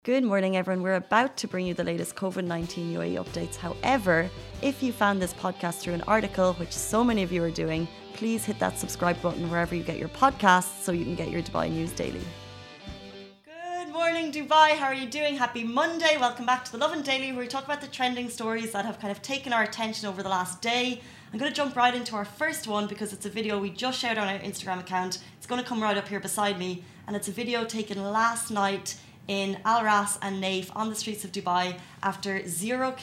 Good morning, everyone. We're about to bring you the latest COVID-19 UAE updates. However, if you found this podcast through an article, which so many of you are doing, please hit that subscribe button wherever you get your podcasts so you can get your Dubai news daily. Good morning, Dubai. How are you doing? Happy Monday. Welcome back to the Lovin Daily, where we talk about the trending stories that have kind of taken our attention over the last day. I'm going to jump right into our first one because it's a video we just shared on our Instagram account. It's going to come right up here beside me, and it's a video taken last night in Al Ras and Naif on the streets of Dubai after zero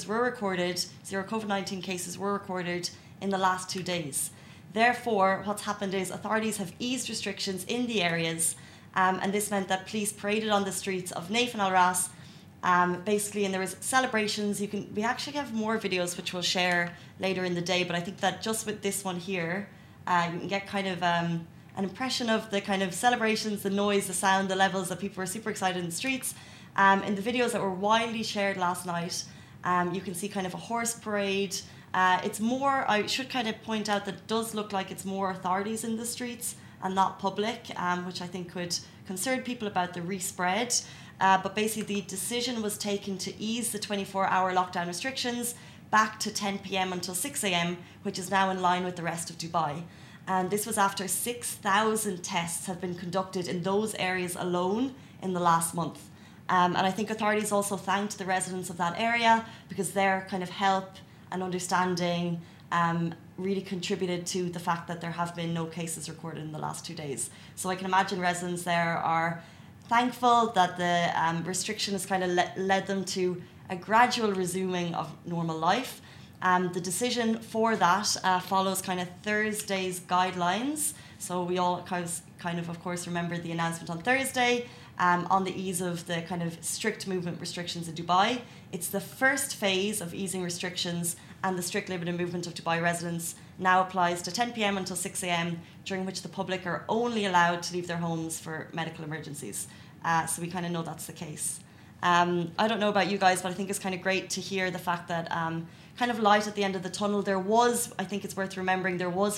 COVID-19 cases were recorded in the last 2 days. Therefore, what's happened is authorities have eased restrictions in the areas, and this meant that police paraded on the streets of Naif and Al Ras, basically, and there was celebrations. We actually have more videos which we'll share later in the day, but I think that just with this one here, you can get kind of an impression of the kind of celebrations, the noise, the sound, the levels that people were super excited in the streets. In the videos that were widely shared last night, you can see kind of a horse parade. It's more, I should kind of point out that it does look like it's more authorities in the streets and not public, which I think could concern people about the respread. But basically the decision was taken to ease the 24-hour lockdown restrictions back to 10 p.m. until 6 a.m., which is now in line with the rest of Dubai. And this was after 6,000 tests have been conducted in those areas alone in the last month. And I think authorities also thanked the residents of that area because their kind of help and understanding really contributed to the fact that there have been no cases recorded in the last 2 days. So I can imagine residents there are thankful that the restriction has kind of led them to a gradual resuming of normal life. The decision for that follows kind of Thursday's guidelines. So we all kind of course, remember the announcement on Thursday on the ease of the kind of strict movement restrictions in Dubai. It's the first phase of easing restrictions, and the strict limited movement of Dubai residents now applies to 10 p.m. until 6 a.m., during which the public are only allowed to leave their homes for medical emergencies. So we kind of know that's the case. I don't know about you guys, but I think it's kind of great to hear the fact that kind of light at the end of the tunnel. There was, I think it's worth remembering, there was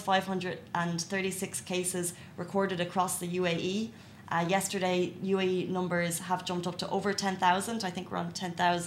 536 cases recorded across the UAE. Yesterday, UAE numbers have jumped up to over 10,000. I think we're on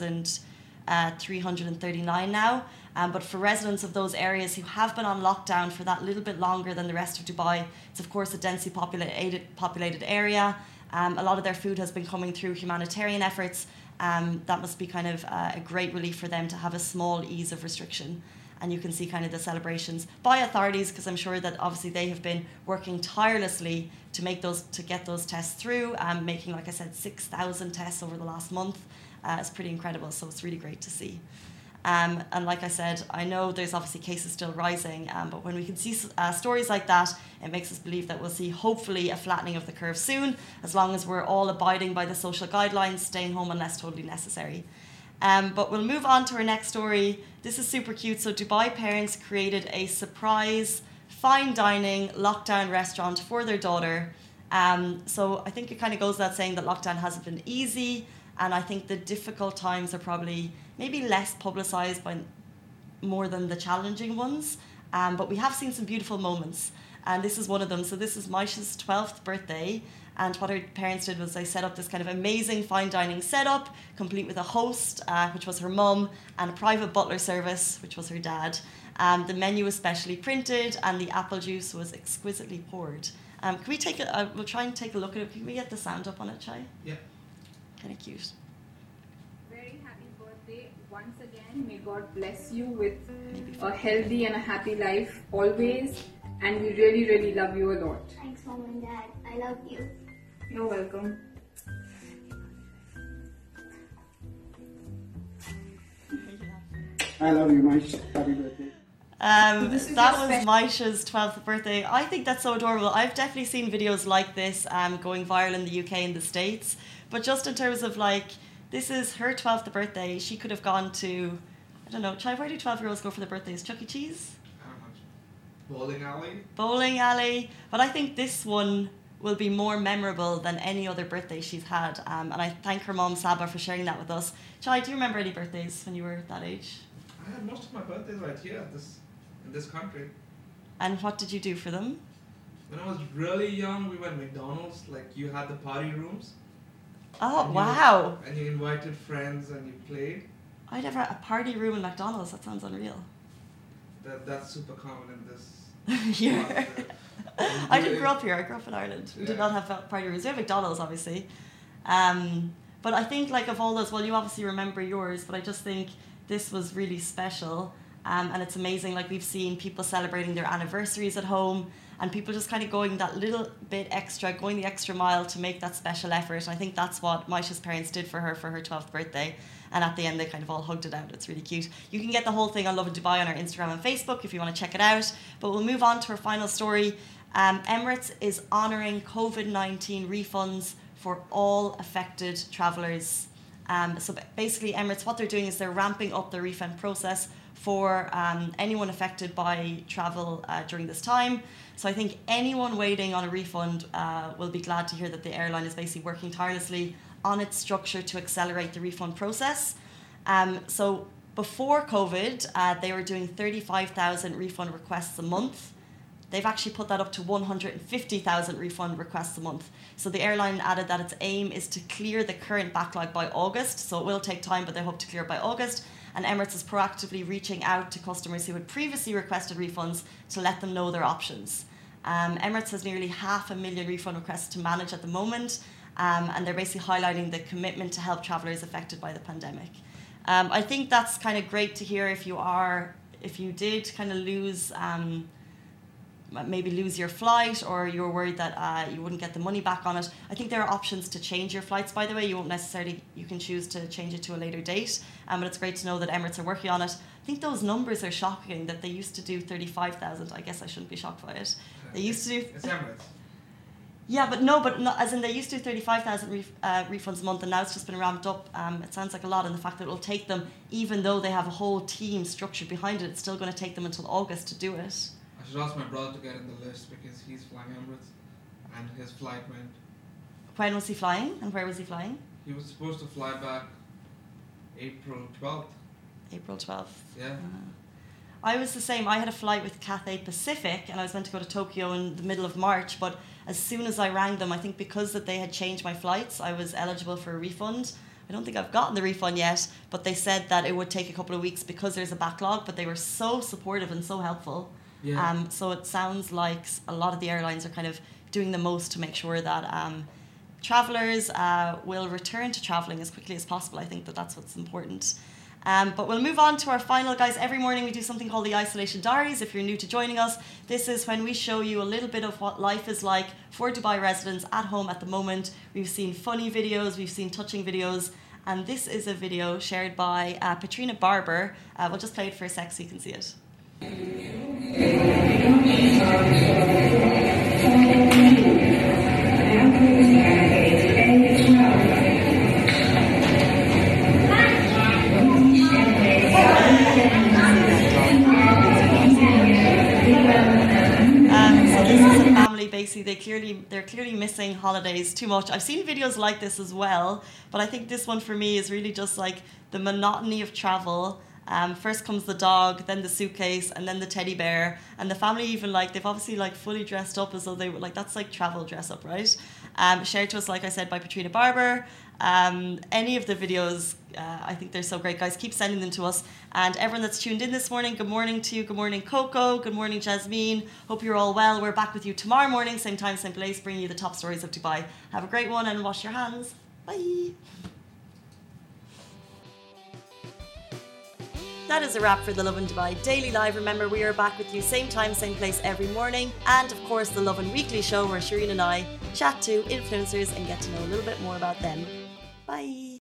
10,339 now. But for residents of those areas who have been on lockdown for that little bit longer than the rest of Dubai, it's of course a densely populated area. A lot of their food has been coming through humanitarian efforts. That must be kind of a great relief for them to have a small ease of restriction. And you can see kind of the celebrations by authorities, because I'm sure that obviously they have been working tirelessly to get those tests through, making, like I said, 6,000 tests over the last month. It's pretty incredible, so it's really great to see. And like I said, I know there's obviously cases still rising, but when we can see stories like that, it makes us believe that we'll see hopefully a flattening of the curve soon, as long as we're all abiding by the social guidelines, staying home unless totally necessary. But we'll move on to our next story. This is super cute. So Dubai parents created a surprise fine dining lockdown restaurant for their daughter. So I think it kind of goes without saying that lockdown hasn't been easy, and I think the difficult times are probably maybe less publicised by more than the challenging ones. But we have seen some beautiful moments, and this is one of them. So this is Maisha's 12th birthday, and what her parents did was they set up this kind of amazing fine dining setup, complete with a host, which was her mum, and a private butler service, which was her dad. The menu was specially printed, and the apple juice was exquisitely poured. Can we we'll try and take a look at it. Can we get the sound up on it, Chai? Yeah. Kind of cute. Very happy birthday once again. May God bless you with a healthy and a happy life always. And we really, really love you a lot. Thanks, Mom and Dad. I love you. You're welcome. I love you, Maish. Happy birthday. That was Maisha's 12th birthday. I think that's so adorable. I've definitely seen videos like this going viral in the UK and the States. But just in terms of this is her 12th birthday. She could have gone to, I don't know, Chai, where do 12-year-olds go for their birthdays? Chuck E. Cheese? Bowling alley. Bowling alley. But I think this one will be more memorable than any other birthday she's had. And I thank her mom, Saba, for sharing that with us. Chai, do you remember any birthdays when you were that age? I had most of my birthdays right here in this country. And what did you do for them? When I was really young, we went McDonald's. You had the party rooms. Oh, And wow. And you invited friends and you played. I never a party room in McDonald's. That sounds unreal. That's super common in this. Here. part, I didn't grow up here. I grew up in Ireland. We did Yeah. not have party rooms. We have McDonald's, obviously. But I think, like, of all those, well, you obviously remember yours, but I just think this was really special. And it's amazing. Like, we've seen people celebrating their anniversaries at home, and people just kind of going that little bit extra, going the extra mile to make that special effort. And I think that's what Maisha's parents did for her 12th birthday. And at the end, they kind of all hugged it out. It's really cute. You can get the whole thing on Lovin Dubai on our Instagram and Facebook if you want to check it out. But we'll move on to our final story. Emirates is honouring COVID-19 refunds for all affected travellers. So basically, Emirates, what they're doing is they're ramping up the refund process for anyone affected by travel during this time. So I think anyone waiting on a refund will be glad to hear that the airline is basically working tirelessly on its structure to accelerate the refund process. So before COVID, they were doing 35,000 refund requests a month. They've actually put that up to 150,000 refund requests a month. So the airline added that its aim is to clear the current backlog by August. So it will take time, but they hope to clear it by August. And Emirates is proactively reaching out to customers who had previously requested refunds to let them know their options. Emirates has nearly 500,000 refund requests to manage at the moment. And they're basically highlighting the commitment to help travellers affected by the pandemic. I think that's kind of great to hear if you did kind of lose, maybe lose your flight, or you were worried that you wouldn't get the money back on it. I think there are options to change your flights, by the way. You can choose to change it to a later date. But it's great to know that Emirates are working on it. I think those numbers are shocking, that they used to do 35,000. I guess I shouldn't be shocked by it. They used to do... It's Emirates. Yeah, but as in they used to do 35,000 refunds a month, and now it's just been ramped up. It sounds like a lot, and the fact that it will take them, even though they have a whole team structured behind it, it's still going to take them until August to do it. I should ask my brother to get in the list because he's flying Emirates and his flight went. When was he flying, and where was he flying? He was supposed to fly back April 12th. April 12th. Yeah. I was the same. I had a flight with Cathay Pacific, and I was meant to go to Tokyo in the middle of March, but as soon as I rang them, I think because that they had changed my flights, I was eligible for a refund. I don't think I've gotten the refund yet, but they said that it would take a couple of weeks because there's a backlog, but they were so supportive and so helpful. Yeah. So it sounds like a lot of the airlines are kind of doing the most to make sure that travellers will return to travelling as quickly as possible. I think that's what's important. But we'll move on to our final, guys. Every morning we do something called the Isolation Diaries. If you're new to joining us, this is when we show you a little bit of what life is like for Dubai residents at home at the moment. We've seen funny videos, we've seen touching videos, and this is a video shared by Patrina Barber. We'll just play it for a sec so you can see it. So this is a family, basically, they're clearly missing holidays too much. I've seen videos like this as well, but I think this one for me is really just like the monotony of travel. First comes the dog, then the suitcase, and then the teddy bear. And the family even they've obviously fully dressed up as though they were that's like travel dress up, right? Shared to us, like I said, by Patrina Barber. Any of the videos, I think they're so great, guys. Keep sending them to us. And everyone that's tuned in this morning, good morning to you. Good morning, Coco. Good morning, Jasmine. Hope you're all well. We're back with you tomorrow morning, same time, same place, bringing you the top stories of Dubai. Have a great one and wash your hands. Bye. That is a wrap for the Lovin Dubai Daily Live. Remember, we are back with you same time, same place every morning. And of course, the Lovin Weekly Show where Shireen and I chat to influencers and get to know a little bit more about them. Bye.